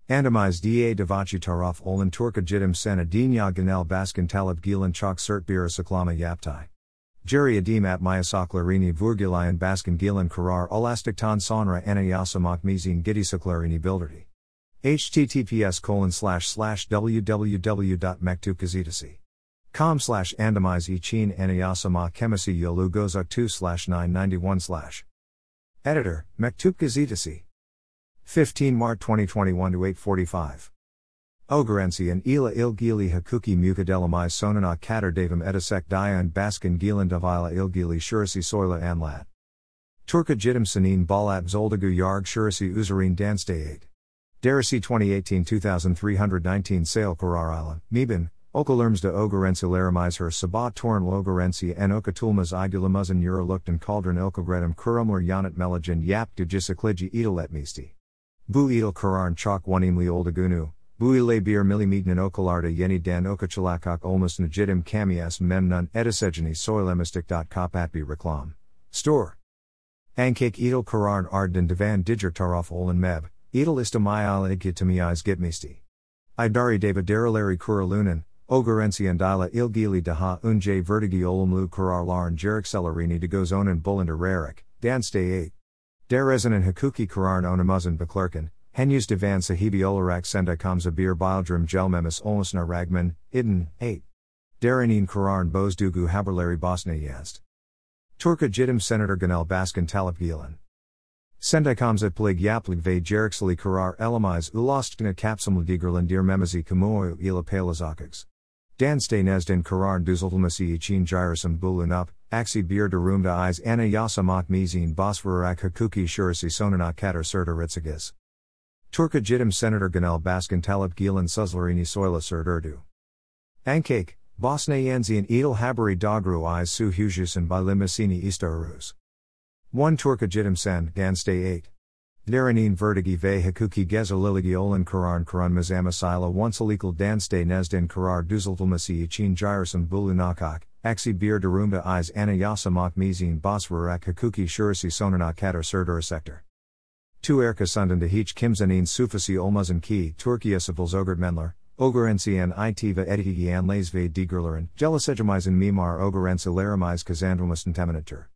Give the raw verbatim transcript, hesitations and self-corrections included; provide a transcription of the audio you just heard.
Andamiz da davachi taraf olan Turka jidim sana dinya genel baskin talib gilan çok sert bir saklama yaptay. Jerry adim at mayasaklarini vurgilayan baskin gilan karar elastiktan sonra anayasamak mizin gidisaklarini bildirdi. https colon slash slash www.mektupgazetesi. Com slash andamiz için anayasama kemisi yolu gozuk two slash nine ninety-one slash. Editor, Mektup Gazetesi. fifteen March twenty twenty-one to eight forty-five. Ogerensi and ila ilgili hakuki mukadelamai sonana kater davam edasek dian baskin gilan davila ilgili shurasi soyla anlat. Turka jidim sanin balat zoldagu yarg shurasi uzarin danstayate. Derisi twenty eighteen two three nineteen Sale Karar Island, Mebin, Okalerms de Ogerensi laramais her sabat torn Ogerensi en okatulmas idulamuzan uraluktan cauldron ilkogredum kurumler yanat melagin yap du gisakliji edaletmisti. Bu edel kararn chok onimli oldagunu, bu ile bir millimetnan okalarda yeni dan okachalakok olmus najidim kamias memnun edisegeni soilemistic.kopatbi reklam. Store. Ankik edel kararn ardden divan diger taraf olan meb, edel istamayal igitamiz gitmisti. Idari David Derileri Kuralunan, Ogerensi and Dila ilgili daha unje vertigi olumlu kararlarn jerikcelerini de gozonen bullender rarik, danstay eight. Derezanen hakuki kararn onamuzan beklerken, henus divan sahibi olarak sendikamza bir bildrum gelmemis olmusna ragman, idin, eight. Derenin kararn bozdugu haberleri bosna yazd. Turka jidim senator genel baskin talip gilan. Sendikamza plig yaplig ve jeriksali karar elamiz ulostkna kapsumla digerlandir memizi kamuoyu ila palazakigs. Danstay nezdin karar düzeltilmesi için gyrasım bulunup, aksi bir durumda iz anayasamak mizin basvararak hakuki shurasi sonana kater serdaritsagiz. Turka jidim senator genel baskin talip gilan suzlarini soyla serdurdu. Ankake, Bosna yenzian edel haberi dogru iz su hujusan by limasini istarus. one Turka jidim sen, Danstay eight. Derenin vertigi ve hakuki geza liligi olan karan karan mazamasila oncelikal danstay nezdin karar düzeltilmesi için gyrasım bulunakak, aksi bir durumda iz anayasamak mizin basvararak hakuki shurasi sonana kater serdura sector. two Erka sundanda hiç kimsenin sufasi olmazan ki Turkiye civils öğretmenler, Ogerensi and itiva etigian lays ve digerlerin, jelisejamizan mimar Ogerensi laramiz kazandrumisten teminatur.